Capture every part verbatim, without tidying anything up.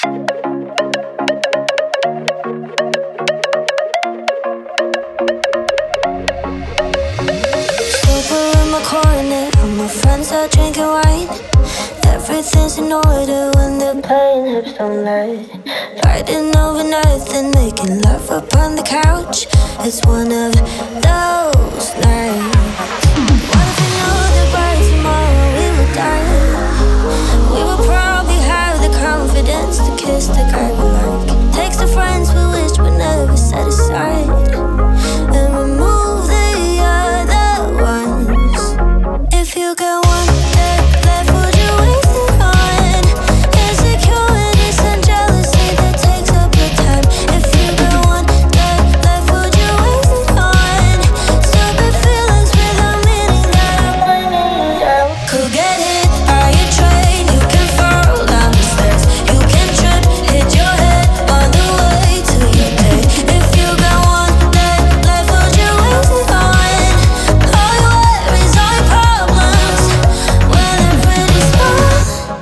Everything's in order when the pain hips don't lie. Fighting over nothing, making love up on the couch. It's one of those nights. What if we knew that by tomorrow we would die? We would probably have the confidence to kiss the guy we like. Takes the friends we wish we never set aside, and remove the other ones. If you got one day left, would you waste it on insecurities and jealousy that takes up your time? If you got one day left, would you waste it on stupid feelings without meaning that are bringing you down? Could get hit by a train, you can fall down the stairs, you can trip, hit your head on the way to your day. If you got one day left, would you waste it on all your worries, all your problems when they're pretty small?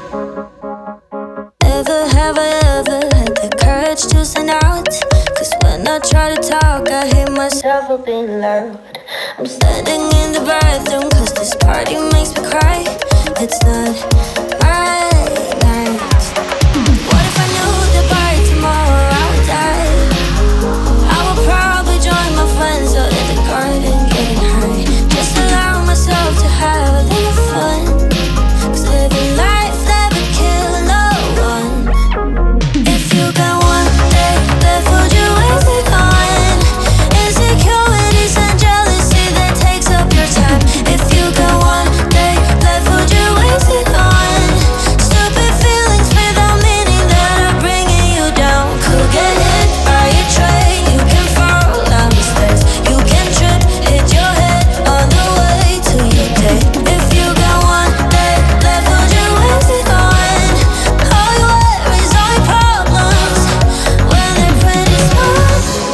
Ever have I ever had the courage to stand out? Cause when I try to talk, I hear myself for being loud. I'm standing in the bathroom cause this party makes me cry. It's not my night. What if I knew that by tomorrow I would die? I would probably join my friends out in the garden getting high. Just allow myself to have a little fun, cause living life never kill no one. If you got one day left, would you waste it on insecurities and jealousy that takes up your time? If you got one day left, would you waste it on stupid feelings without meaning that are bringing you down? Could get hit by a train, you can fall down the stairs, you can trip, hit your head on the way to your day. If you got one day left, would you waste it on all your worries, all your problems when they're pretty small?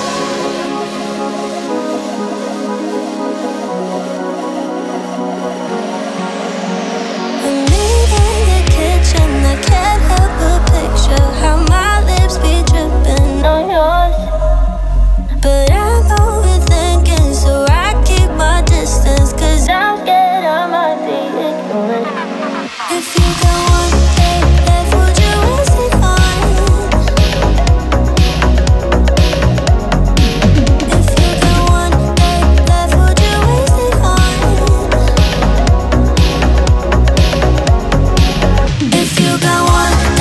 I'm in the kitchen, I can't help but picture how my lips be dripping on yours. But I'm overthinking, so I keep my distance, cause I'm scared I might be ignored. If you got one day left, would you waste it on? If you got one day left, would you waste it on? If you got one